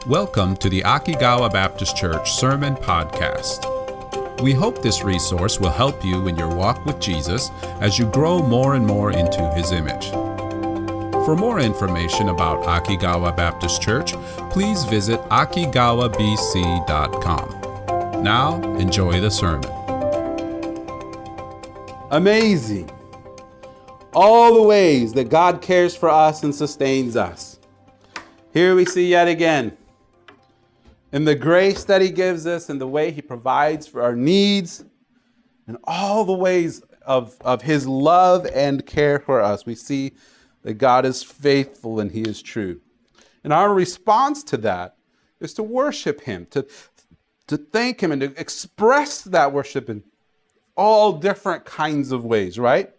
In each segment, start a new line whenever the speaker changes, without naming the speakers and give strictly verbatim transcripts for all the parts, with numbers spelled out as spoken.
Welcome to the Akigawa Baptist Church Sermon Podcast. We hope this resource will help you in your walk with Jesus as you grow more and more into His image. For more information about Akigawa Baptist Church, please visit akigawa b c dot com. Now, enjoy the sermon.
Amazing. All the ways that God cares for us and sustains us. Here we see yet again, in the grace that He gives us and the way He provides for our needs, and all the ways of, of His love and care for us, we see that God is faithful and He is true. And our response to that is to worship Him, to, to thank Him, and to express that worship in all different kinds of ways, right?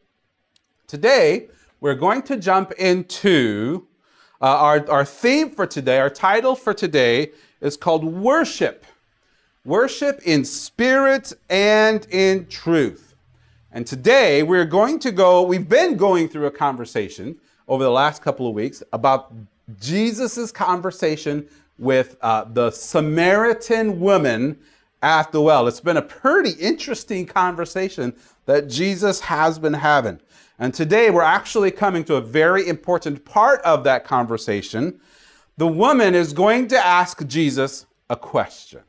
Today, we're going to jump into uh, our, our theme for today. Our title for today is called Worship. Worship in spirit and in truth. And today, we're going to go, we've been going through a conversation over the last couple of weeks about Jesus's conversation with uh, the Samaritan woman at the well. It's been a pretty interesting conversation that Jesus has been having. And today we're actually coming to a very important part of that conversation. The woman is going to ask Jesus a question.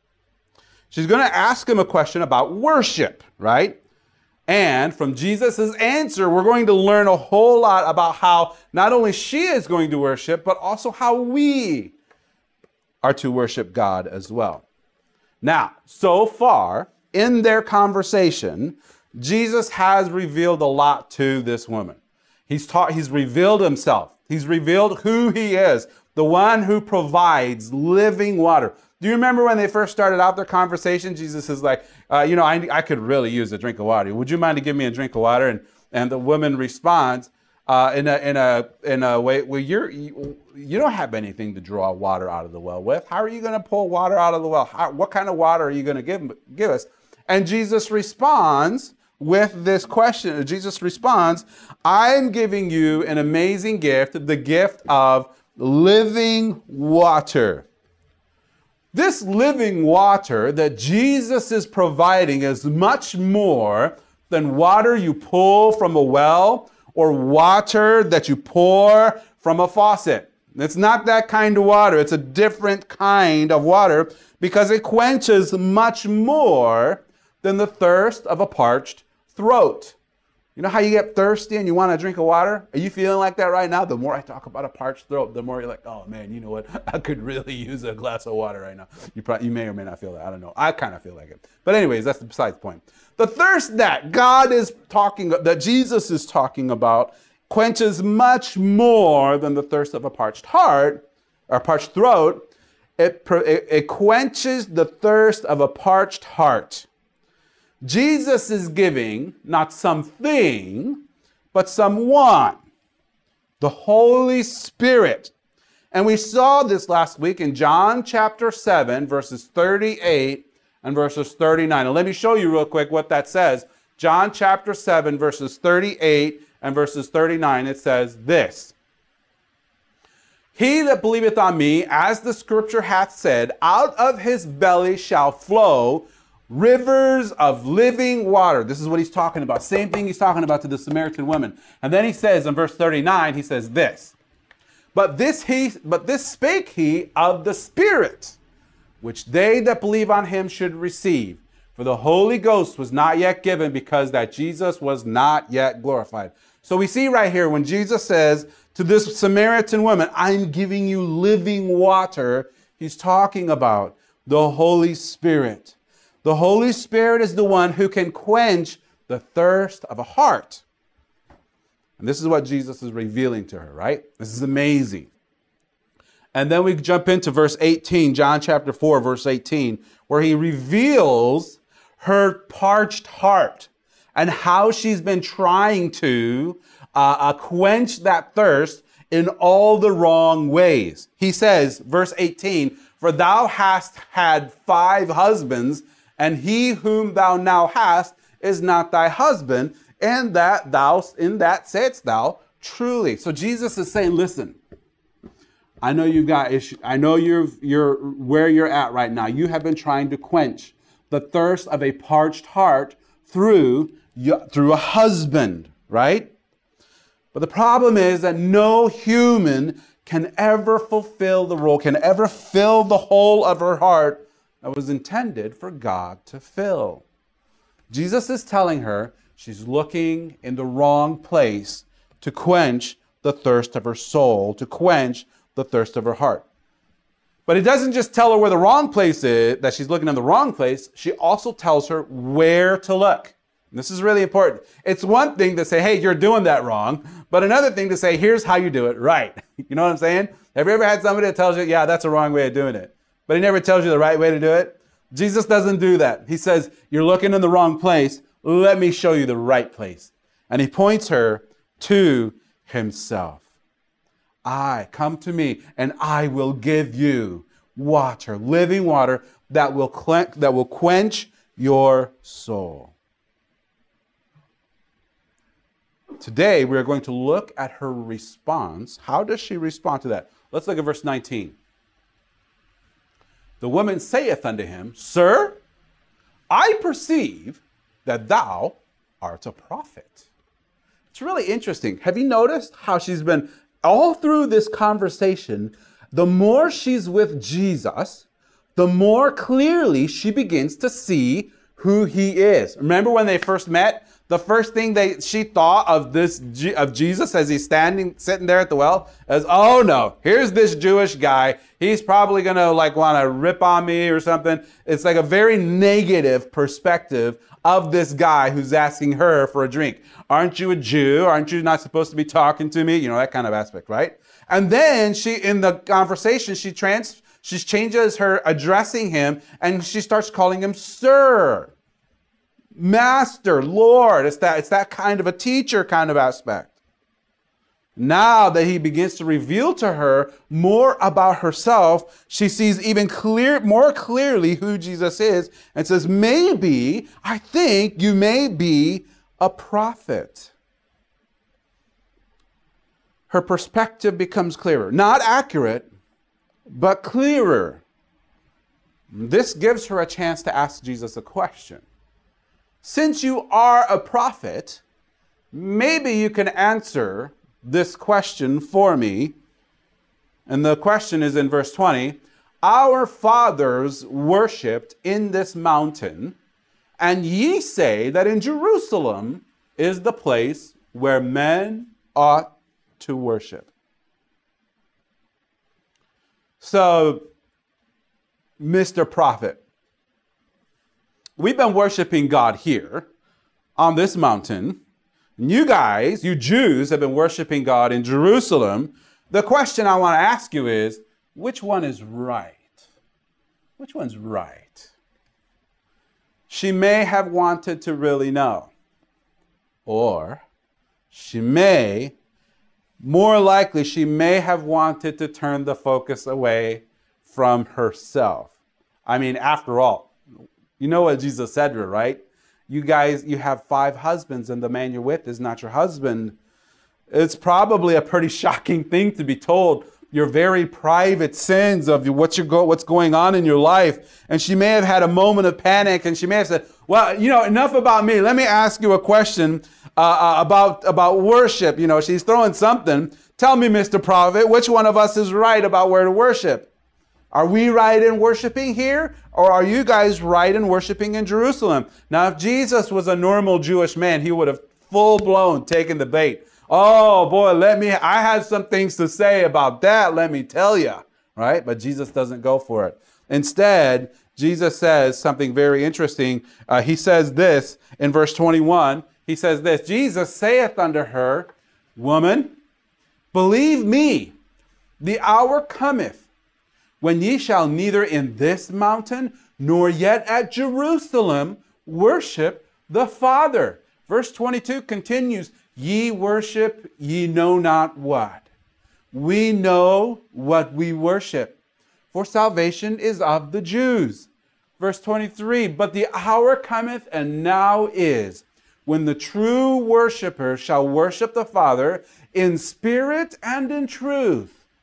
She's going to ask Him a question about worship, right? And from Jesus' answer, we're going to learn a whole lot about how not only she is going to worship, but also how we are to worship God as well. Now, so far in their conversation, Jesus has revealed a lot to this woman. He's taught, he's revealed Himself. He's revealed who He is, the one who provides living water. Do you remember when they first started out their conversation? Jesus is like, uh, you know, I, I could really use a drink of water. Would you mind to give me a drink of water? And and the woman responds uh, in a in a in a way, well, you're you, you don't have anything to draw water out of the well with. How are you going to pull water out of the well? How, what kind of water are you going to give give us? And Jesus responds with this question. Jesus responds, I'm giving you an amazing gift, the gift of living water. This living water that Jesus is providing is much more than water you pull from a well or water that you pour from a faucet. It's not that kind of water. It's a different kind of water because it quenches much more than the thirst of a parched throat. You know how you get thirsty and you want a drink of water? Are you feeling like that right now? The more I talk about a parched throat, the more you're like, oh man, you know what? I could really use a glass of water right now. You probably, you may or may not feel that. I don't know. I kind of feel like it. But anyways, that's besides the point. The thirst that God is talking, that Jesus is talking about, quenches much more than the thirst of a parched heart or parched throat. It, it, it quenches the thirst of a parched heart. Jesus is giving not something, but someone, the Holy Spirit. And we saw this last week in John chapter seven, verses thirty-eight and verses thirty-nine. And let me show you real quick what that says. John chapter seven, verses thirty-eight and verses thirty-nine, it says this. He that believeth on me, as the scripture hath said, out of his belly shall flow rivers of living water. This is what he's talking about. Same thing he's talking about to the Samaritan woman. And then he says in verse thirty-nine, he says this. But this he, but this spake he of the Spirit, which they that believe on him should receive. For the Holy Ghost was not yet given, because that Jesus was not yet glorified. So we see right here when Jesus says to this Samaritan woman, I'm giving you living water, he's talking about the Holy Spirit. The Holy Spirit is the one who can quench the thirst of a heart. And this is what Jesus is revealing to her, right? This is amazing. And then we jump into verse eighteen, John chapter four, verse eighteen, where he reveals her parched heart and how she's been trying to uh, uh, quench that thirst in all the wrong ways. He says, verse eighteen, for thou hast had five husbands, and he whom thou now hast is not thy husband, and that thou, in that saidst thou truly. So Jesus is saying, listen, I know you've got issue. I know you're you're where you're at right now. You have been trying to quench the thirst of a parched heart through through a husband, right? But the problem is that no human can ever fulfill the role, can ever fill the hole of her heart that was intended for God to fill. Jesus is telling her she's looking in the wrong place to quench the thirst of her soul, to quench the thirst of her heart. But it doesn't just tell her where the wrong place is, that she's looking in the wrong place. She also tells her where to look. And this is really important. It's one thing to say, hey, you're doing that wrong, but another thing to say, here's how you do it right. You know what I'm saying? Have you ever had somebody that tells you, yeah, that's a wrong way of doing it, but he never tells you the right way to do it? Jesus doesn't do that. He says, you're looking in the wrong place. Let me show you the right place. And he points her to himself. I, come to me, and I will give you water, living water that will clen- that will quench your soul. Today, we are going to look at her response. How does she respond to that? Let's look at verse nineteen. The woman saith unto him, Sir, I perceive that thou art a prophet. It's really interesting. Have you noticed how she's been, all through this conversation, the more she's with Jesus, the more clearly she begins to see who he is. Remember when they first met? The first thing they she thought of this of Jesus as he's standing, sitting there at the well, is, oh no, here's this Jewish guy. He's probably gonna like want to rip on me or something. It's like a very negative perspective of this guy who's asking her for a drink. Aren't you a Jew? Aren't you not supposed to be talking to me? You know, that kind of aspect, right? And then she, in the conversation, she trans she changes her addressing him, and she starts calling him Sir, Master, Lord. It's that, it's that kind of a teacher kind of aspect. Now that he begins to reveal to her more about herself, she sees even clear, more clearly who Jesus is and says, maybe, I think you may be a prophet. Her perspective becomes clearer. Not accurate, but clearer. This gives her a chance to ask Jesus a question. Since you are a prophet, maybe you can answer this question for me. And the question is in verse twenty. Our fathers worshipped in this mountain, and ye say that in Jerusalem is the place where men ought to worship. So, Mister Prophet, we've been worshiping God here on this mountain. You guys, you Jews, have been worshiping God in Jerusalem. The question I want to ask you is, which one is right? Which one's right? She may have wanted to really know. Or she may, more likely, she may have wanted to turn the focus away from herself. I mean, after all, you know what Jesus said to her, right? You guys, you have five husbands and the man you're with is not your husband. It's probably a pretty shocking thing to be told your very private sins of what you're go, what's going on in your life. And she may have had a moment of panic, and she may have said, well, you know, enough about me. Let me ask you a question uh, uh, about, about worship. You know, she's throwing something. Tell me, Mister Prophet, which one of us is right about where to worship? Are we right in worshiping here, or are you guys right in worshiping in Jerusalem? Now, if Jesus was a normal Jewish man, he would have full-blown taken the bait. Oh, boy, let me, I have some things to say about that, let me tell you, right? But Jesus doesn't go for it. Instead, Jesus says something very interesting. Uh, he says this in verse twenty-one. He says this, Jesus saith unto her, Woman, believe me, the hour cometh, when ye shall neither in this mountain, nor yet at Jerusalem, worship the Father. Verse twenty-two continues, Ye worship, ye know not what. We know what we worship, for salvation is of the Jews. Verse twenty-three, But the hour cometh, and now is, when the true worshiper shall worship the Father in spirit and in truth.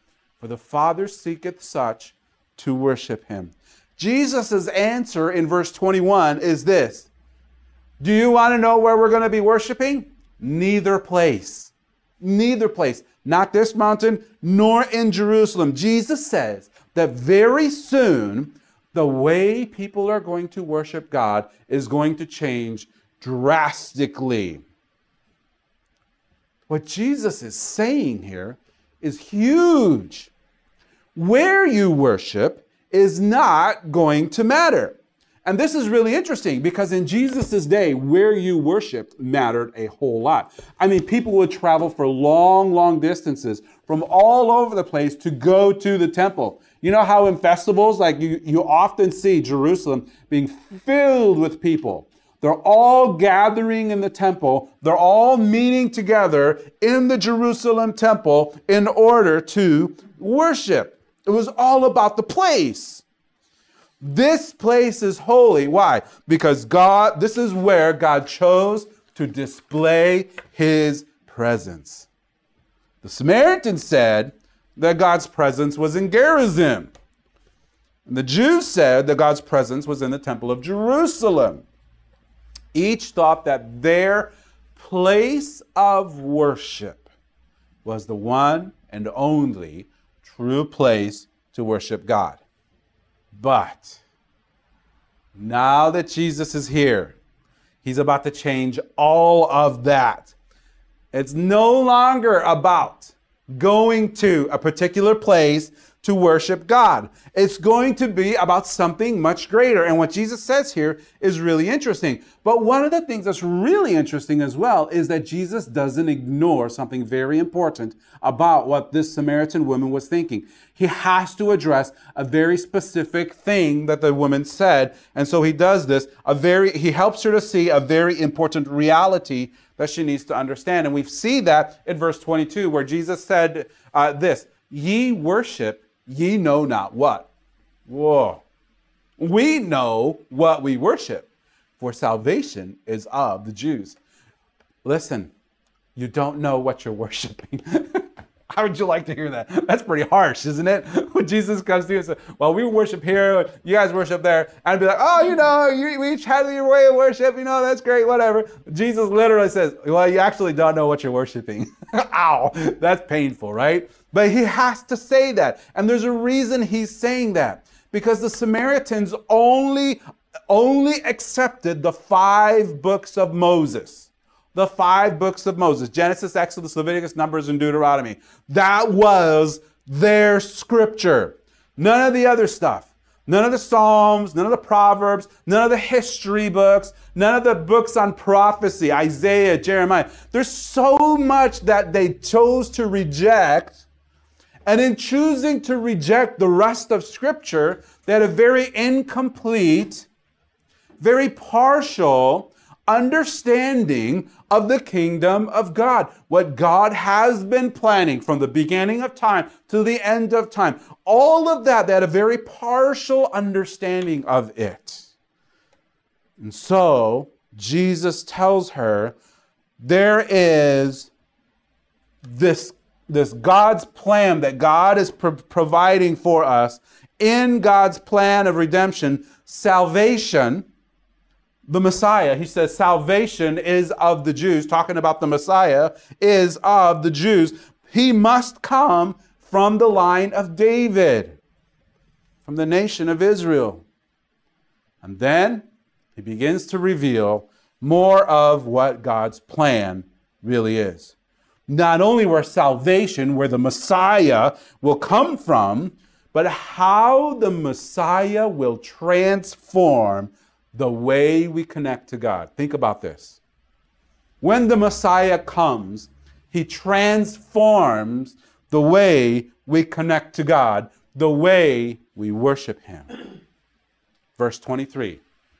for the Father seeketh such to worship him. Jesus' answer in verse twenty-one is this. Do you want to know where we're going to be worshiping? Neither place. Neither place. Not this mountain, nor in Jerusalem. Jesus says that very soon, the way people are going to worship God is going to change drastically. What Jesus is saying here is huge. Where you worship is not going to matter. And this is really interesting because in Jesus' day, where you worshiped mattered a whole lot. I mean, people would travel for long, long distances from all over the place to go to the temple. You know how in festivals, like you, you often see Jerusalem being filled with people. They're all gathering in the temple. They're all meeting together in the Jerusalem temple in order to worship. It was all about the place. This place is holy. Why? Because God, this is where God chose to display his presence. The Samaritans said that God's presence was in Gerizim. And the Jews said that God's presence was in the temple of Jerusalem. Each thought that their place of worship was the one and only true place to worship God. But now that Jesus is here, he's about to change all of that. It's no longer about going to a particular place to worship God. It's going to be about something much greater. And what Jesus says here is really interesting. But one of the things that's really interesting as well is that Jesus doesn't ignore something very important about what this Samaritan woman was thinking. He has to address a very specific thing that the woman said. And so he does this. A very, he helps her to see a very important reality that she needs to understand. And we see that in verse twenty-two, where Jesus said uh, this, ye worship ye know not what. Whoa. We know what we worship, for salvation is of the Jews. Listen, you don't know what you're worshiping. How would you like to hear that? That's pretty harsh, isn't it? When Jesus comes to you and says, well, we worship here, you guys worship there. And I'd be like, oh, you know, you, we each have your way of worship, you know, that's great, whatever. Jesus literally says, well, you actually don't know what you're worshiping. Ow, that's painful, right? But he has to say that. And there's a reason he's saying that. Because the Samaritans only, only accepted the five books of Moses. The five books of Moses, Genesis, Exodus, Leviticus, Numbers, and Deuteronomy. That was their scripture. None of the other stuff. None of the Psalms, none of the Proverbs, none of the history books, none of the books on prophecy, Isaiah, Jeremiah. There's so much that they chose to reject. And in choosing to reject the rest of Scripture, they had a very incomplete, very partial understanding of the kingdom of God. What God has been planning from the beginning of time to the end of time. All of that, they had a very partial understanding of it. And so, Jesus tells her, there is this, this God's plan that God is pro- providing for us. In God's plan of redemption, salvation, the Messiah, he says, salvation is of the Jews, talking about the Messiah, is of the Jews. He must come from the line of David, from the nation of Israel. And then he begins to reveal more of what God's plan really is. Not only where salvation, where the Messiah will come from, but how the Messiah will transform the way we connect to God. Think about this. When the Messiah comes, he transforms the way we connect to God, the way we worship him. Verse twenty-three.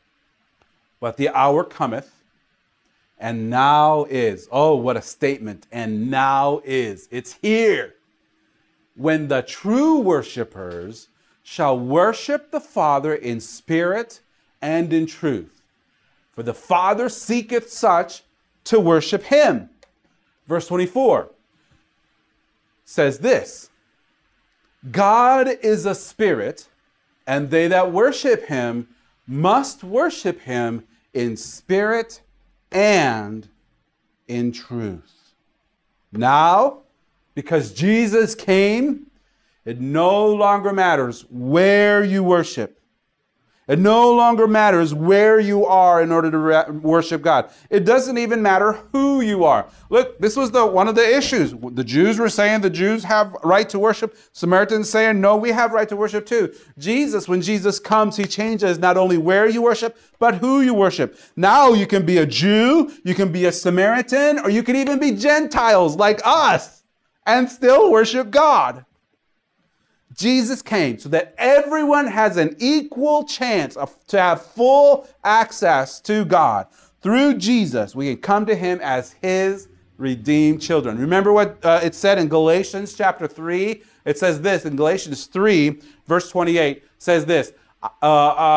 But the hour cometh, and now is. Oh, what a statement. And now is. It's here. When the true worshipers shall worship the Father in spirit and in truth. For the Father seeketh such to worship him. Verse twenty-four says this. God is a spirit, and they that worship him must worship him in spirit and in truth. Now, because Jesus came, it no longer matters where you worship. It no longer matters where you are in order to re- worship God. It doesn't even matter who you are. Look, this was the one of the issues. The Jews were saying the Jews have right to worship. Samaritans saying, no, we have right to worship too. Jesus, when Jesus comes, he changes not only where you worship, but who you worship. Now you can be a Jew, you can be a Samaritan, or you can even be Gentiles like us and still worship God. Jesus came so that everyone has an equal chance of, to have full access to God. Through Jesus, we can come to him as his redeemed children. Remember what uh, it said in Galatians chapter three? It says this in Galatians three, verse twenty-eight, says this. Uh,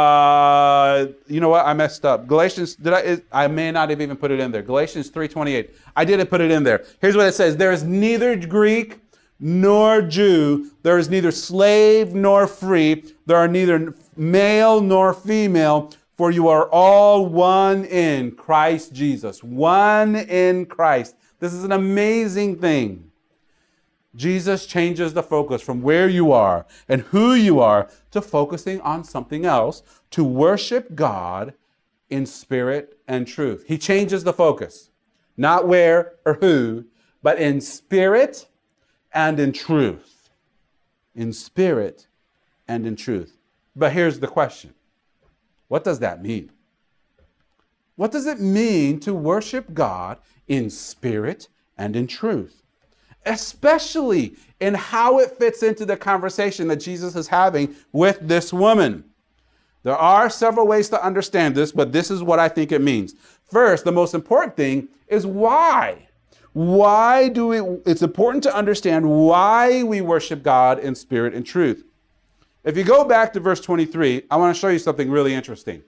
uh, you know what? I messed up. Galatians, did I? It, I may not have even put it in there. Galatians three twenty-eight. I didn't put it in there. Here's what it says. There is neither Greek nor Jew, there is neither slave nor free, there are neither male nor female, for you are all one in Christ Jesus. One in Christ. This is an amazing thing. Jesus changes the focus from where you are and who you are to focusing on something else, to worship God in spirit and truth. He changes the focus, not where or who, but in spirit and in truth. In spirit and in truth. But here's the question. What does that mean? What does it mean to worship God in spirit and in truth? Especially in how it fits into the conversation that Jesus is having with this woman. There are several ways to understand this, but this is what I think it means. First, the most important thing is why. Why do we, it's important to understand why we worship God in spirit and truth. If you go back to verse twenty-three, I want to show you something really interesting.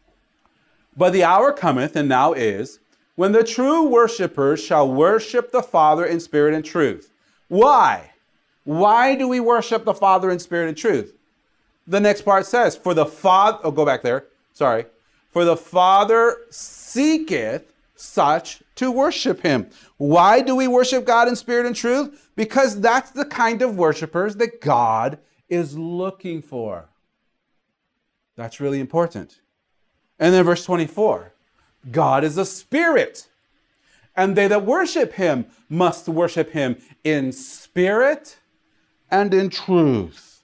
But the hour cometh, and now is, when the true worshipers shall worship the Father in spirit and truth. Why? Why do we worship the Father in spirit and truth? The next part says, for the Father, oh, go back there, sorry. For the Father seeketh such to worship him. Why do we worship God in spirit and truth? Because that's the kind of worshipers that God is looking for. That's really important. And then verse twenty-four, God is a spirit, and they that worship him must worship him in spirit and in truth.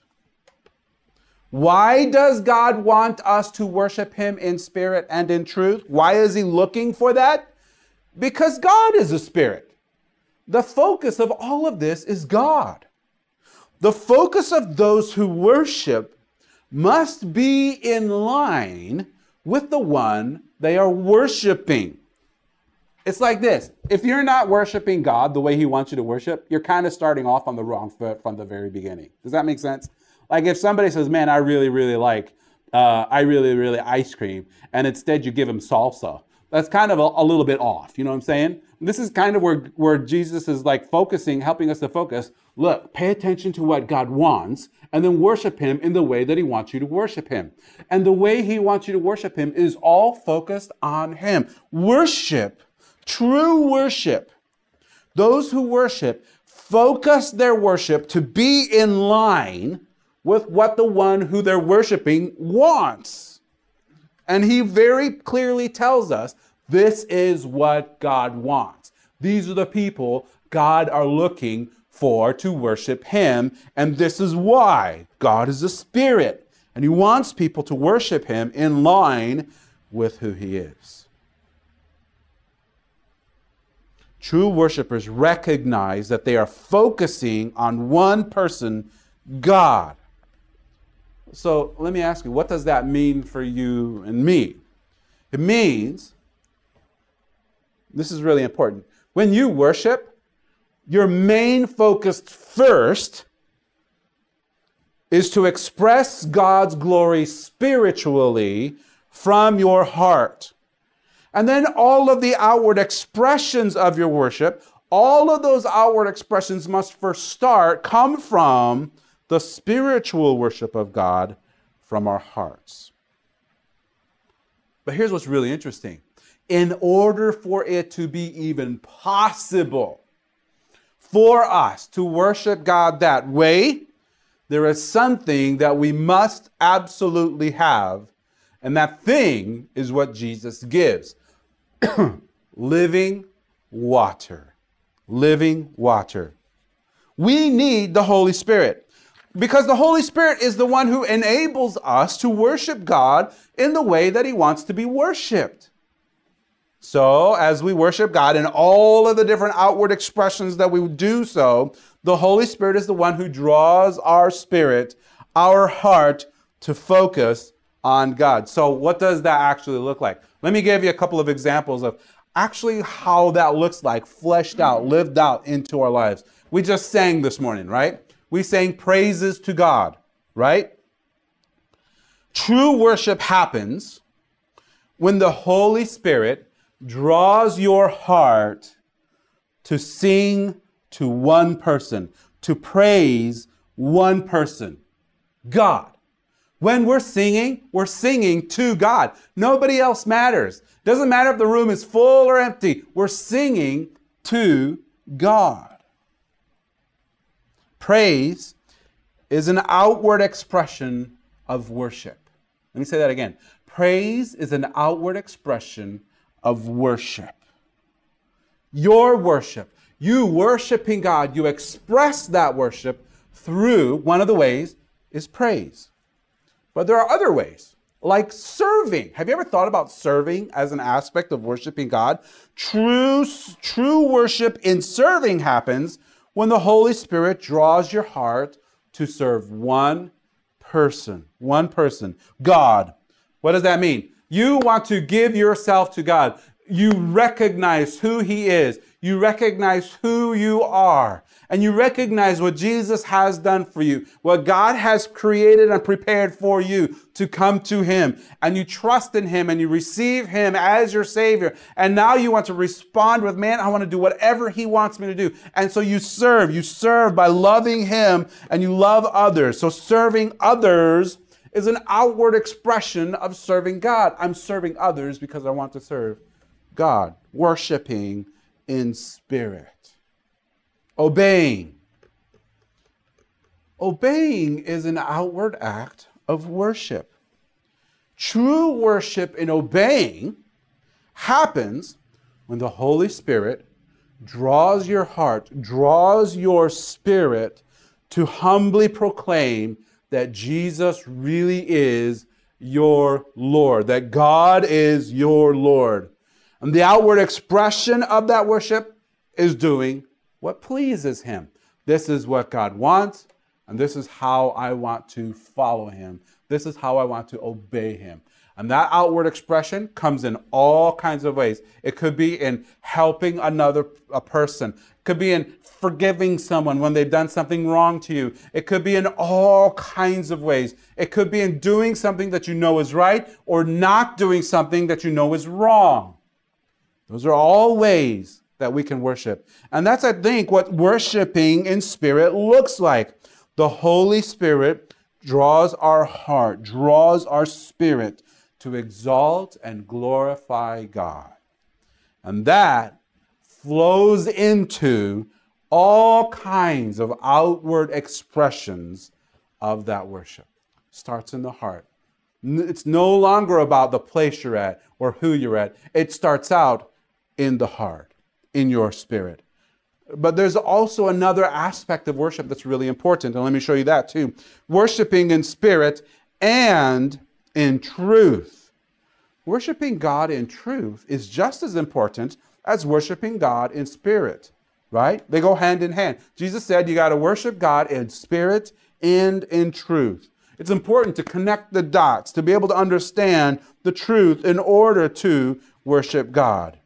Why does God want us to worship him in spirit and in truth? Why is he looking for that? Because God is a spirit. The focus of all of this is God. The focus of those who worship must be in line with the one they are worshiping. It's like this. If you're not worshiping God the way he wants you to worship, you're kind of starting off on the wrong foot from the very beginning. Does that make sense? Like if somebody says, man, I really, really like, uh, I really, really ice cream, and instead you give him salsa, that's kind of a, a little bit off. You know what I'm saying? This is kind of where, where Jesus is like focusing, helping us to focus. Look, pay attention to what God wants and then worship him in the way that he wants you to worship him. And the way he wants you to worship him is all focused on him. Worship, true worship. Those who worship focus their worship to be in line with what the one who they're worshiping wants. And he very clearly tells us this is what God wants. These are the people God are looking for to worship him. And this is why God is a spirit. And he wants people to worship him in line with who he is. True worshipers recognize that they are focusing on one person, God. So let me ask you, what does that mean for you and me? It means, this is really important, when you worship, your main focus first is to express God's glory spiritually from your heart. And then all of the outward expressions of your worship, all of those outward expressions must first start, come from the spiritual worship of God from our hearts. But here's what's really interesting. In order for it to be even possible for us to worship God that way, there is something that we must absolutely have, and that thing is what Jesus gives. Living water. Living water. We need the Holy Spirit, because the Holy Spirit is the one who enables us to worship God in the way that He wants to be worshiped. So, as we worship God in all of the different outward expressions that we do so, the Holy Spirit is the one who draws our spirit, our heart, to focus on God. So, what does that actually look like? Let me give you a couple of examples of actually how that looks like, fleshed out, lived out into our lives. We just sang this morning, right? We sang praises to God, right? True worship happens when the Holy Spirit draws your heart to sing to one person, to praise one person, God. When we're singing, we're singing to God. Nobody else matters. Doesn't matter if the room is full or empty. We're singing to God. Praise is an outward expression of worship. Let me say that again. Praise is an outward expression of worship. Your worship, you worshiping God, you express that worship through, one of the ways is praise. But there are other ways, like serving. Have you ever thought about serving as an aspect of worshiping God? True, true worship in serving happens when the Holy Spirit draws your heart to serve one person, one person, God. What does that mean? You want to give yourself to God. You recognize who He is. You recognize who you are. And you recognize what Jesus has done for you, what God has created and prepared for you to come to Him. And you trust in Him and you receive Him as your Savior. And now you want to respond with, man, I want to do whatever He wants me to do. And so you serve. You serve by loving Him and you love others. So serving others is an outward expression of serving God. I'm serving others because I want to serve God. Worshiping in spirit. Obeying. Obeying is an outward act of worship. True worship in obeying happens when the Holy Spirit draws your heart, draws your spirit to humbly proclaim that Jesus really is your Lord, that God is your Lord. And the outward expression of that worship is doing what pleases Him. This is what God wants, and this is how I want to follow Him. This is how I want to obey Him. And that outward expression comes in all kinds of ways. It could be in helping another a person. It could be in forgiving someone when they've done something wrong to you. It could be in all kinds of ways. It could be in doing something that you know is right or not doing something that you know is wrong. Those are all ways that we can worship. And that's, I think, what worshiping in spirit looks like. The Holy Spirit draws our heart, draws our spirit to exalt and glorify God. And that flows into all kinds of outward expressions of that worship. Starts in the heart. It's no longer about the place you're at or who you're at. It starts out in the heart, in your spirit. But there's also another aspect of worship that's really important, and let me show you that too. Worshiping in spirit and in truth. Worshiping God in truth is just as important as worshiping God in spirit, right? They go hand in hand. Jesus said you got to worship God in spirit and in truth. It's important to connect the dots, to be able to understand the truth in order to worship God.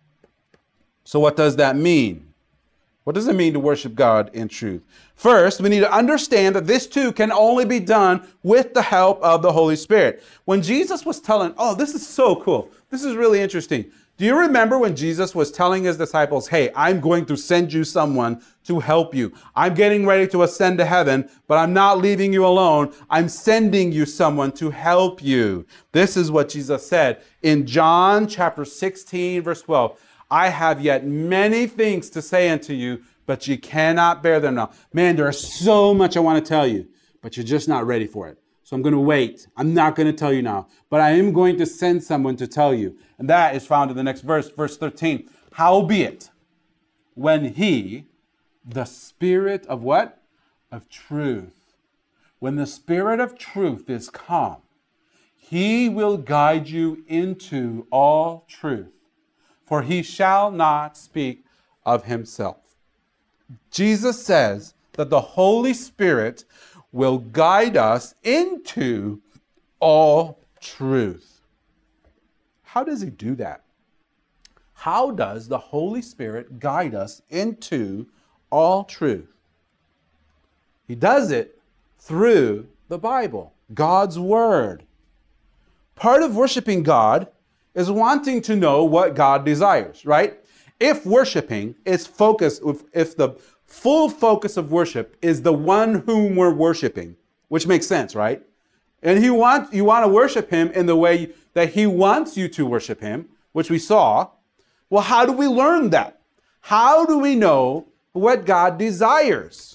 So what does that mean? What does it mean to worship God in truth? First, we need to understand that this too can only be done with the help of the Holy Spirit. When Jesus was telling, oh, this is so cool. This is really interesting. Do you remember when Jesus was telling his disciples, hey, I'm going to send you someone to help you. I'm getting ready to ascend to heaven, but I'm not leaving you alone. I'm sending you someone to help you. This is what Jesus said in John chapter sixteen, verse twelve. I have yet many things to say unto you, but you cannot bear them now. Man, there's so much I want to tell you, but you're just not ready for it. So I'm going to wait. I'm not going to tell you now, but I am going to send someone to tell you. And that is found in the next verse, verse thirteen. Howbeit, when he, the Spirit of what? Of truth. When the Spirit of truth is come, he will guide you into all truth, for he shall not speak of himself. Jesus says that the Holy Spirit will guide us into all truth. How does he do that? How does the Holy Spirit guide us into all truth? He does it through the Bible, God's Word. Part of worshiping God is wanting to know what God desires, right? If worshiping is focused, if the full focus of worship is the one whom we're worshiping, which makes sense, right? And he wants, you want to worship him in the way that he wants you to worship him, which we saw. Well, how do we learn that? How do we know what God desires?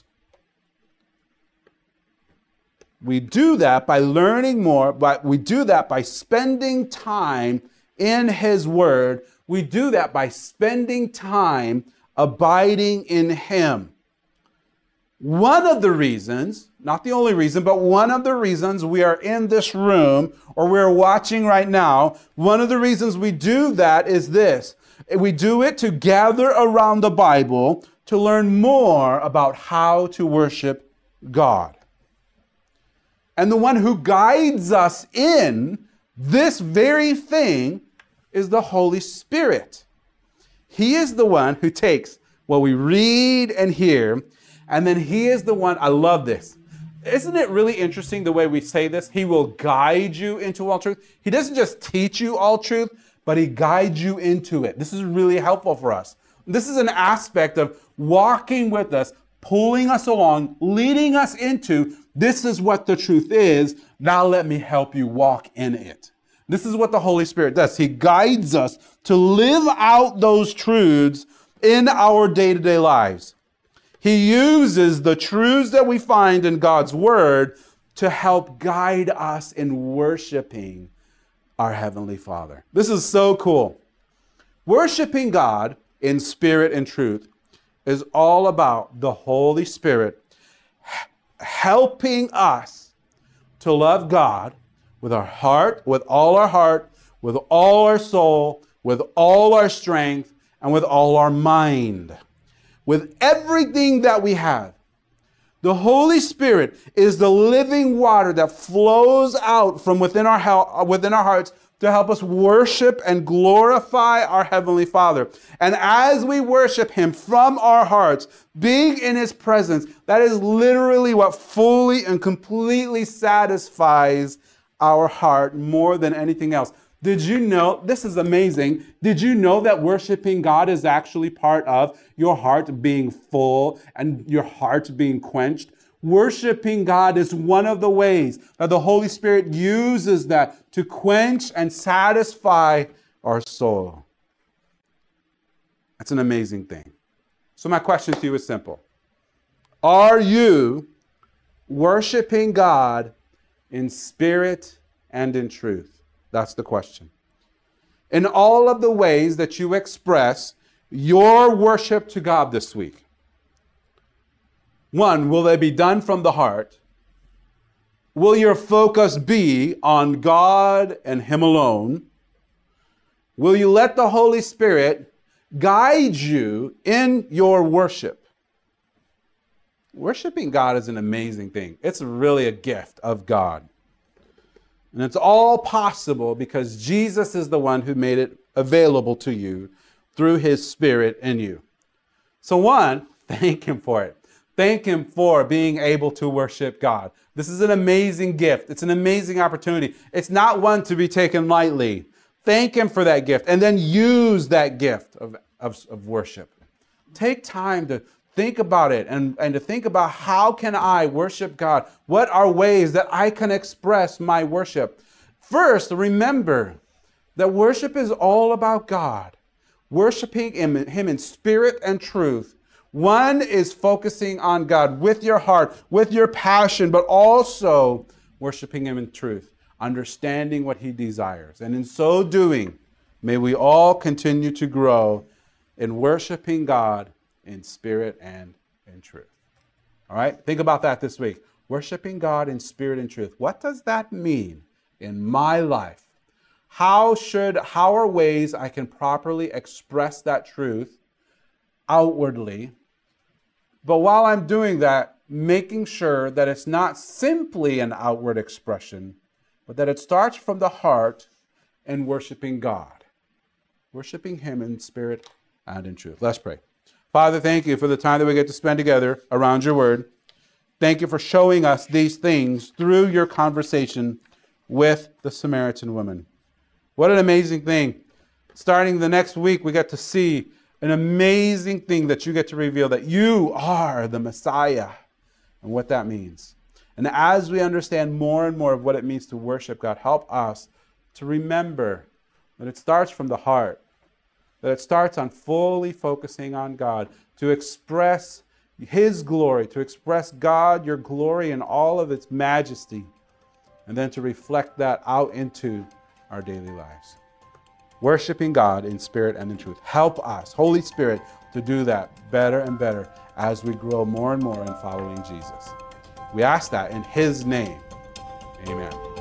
We do that by learning more, but we do that by spending time in his word. We do that by spending time abiding in him. One of the reasons, not the only reason, but one of the reasons we are in this room or we're watching right now, one of the reasons we do that is this. We do it to gather around the Bible to learn more about how to worship God. And the one who guides us in this very thing is the Holy Spirit. He is the one who takes what we read and hear, and then he is the one, I love this. Isn't it really interesting the way we say this? He will guide you into all truth. He doesn't just teach you all truth, but he guides you into it. This is really helpful for us. This is an aspect of walking with us, pulling us along, leading us into, this is what the truth is. Now let me help you walk in it. This is what the Holy Spirit does. He guides us to live out those truths in our day-to-day lives. He uses the truths that we find in God's Word to help guide us in worshiping our Heavenly Father. This is so cool. Worshiping God in spirit and truth is all about the Holy Spirit helping us to love God with our heart, with all our heart, with all our soul, with all our strength, and with all our mind. With everything that we have. The Holy Spirit is the living water that flows out from within our, within our hearts to help us worship and glorify our Heavenly Father. And as we worship Him from our hearts, being in His presence, that is literally what fully and completely satisfies our heart more than anything else. Did you know, this is amazing, did you know that worshiping God is actually part of your heart being full and your heart being quenched? Worshiping God is one of the ways that the Holy Spirit uses that to quench and satisfy our soul. That's an amazing thing. So my question to you is simple. Are you worshiping God in spirit and in truth? That's the question. In all of the ways that you express your worship to God this week, one, will they be done from the heart? Will your focus be on God and Him alone? Will you let the Holy Spirit guide you in your worship? Worshiping God is an amazing thing. It's really a gift of God. And it's all possible because Jesus is the one who made it available to you through His Spirit in you. So one, thank Him for it. Thank Him for being able to worship God. This is an amazing gift. It's an amazing opportunity. It's not one to be taken lightly. Thank him for that gift, and then use that gift of, of, of worship. Take time to think about it and, and to think about how can I worship God? What are ways that I can express my worship? First, remember that worship is all about God. Worshiping him, him in spirit and truth. One is focusing on God with your heart, with your passion, but also worshiping him in truth, understanding what he desires. And in so doing, may we all continue to grow in worshiping God in spirit and in truth. All right? Think about that this week. Worshiping God in spirit and truth. What does that mean in my life? How should, how are ways I can properly express that truth outwardly? But while I'm doing that, making sure that it's not simply an outward expression, but that it starts from the heart and worshiping God. Worshiping him in spirit and in truth. Let's pray. Father, thank you for the time that we get to spend together around your word. Thank you for showing us these things through your conversation with the Samaritan woman. What an amazing thing. Starting the next week, we get to see an amazing thing that you get to reveal, that you are the Messiah and what that means. And as we understand more and more of what it means to worship God, help us to remember that it starts from the heart, that it starts on fully focusing on God, to express his glory, to express God, your glory in all of its majesty, and then to reflect that out into our daily lives. Worshiping God in spirit and in truth. Help us, Holy Spirit, to do that better and better as we grow more and more in following Jesus. We ask that in his name. Amen.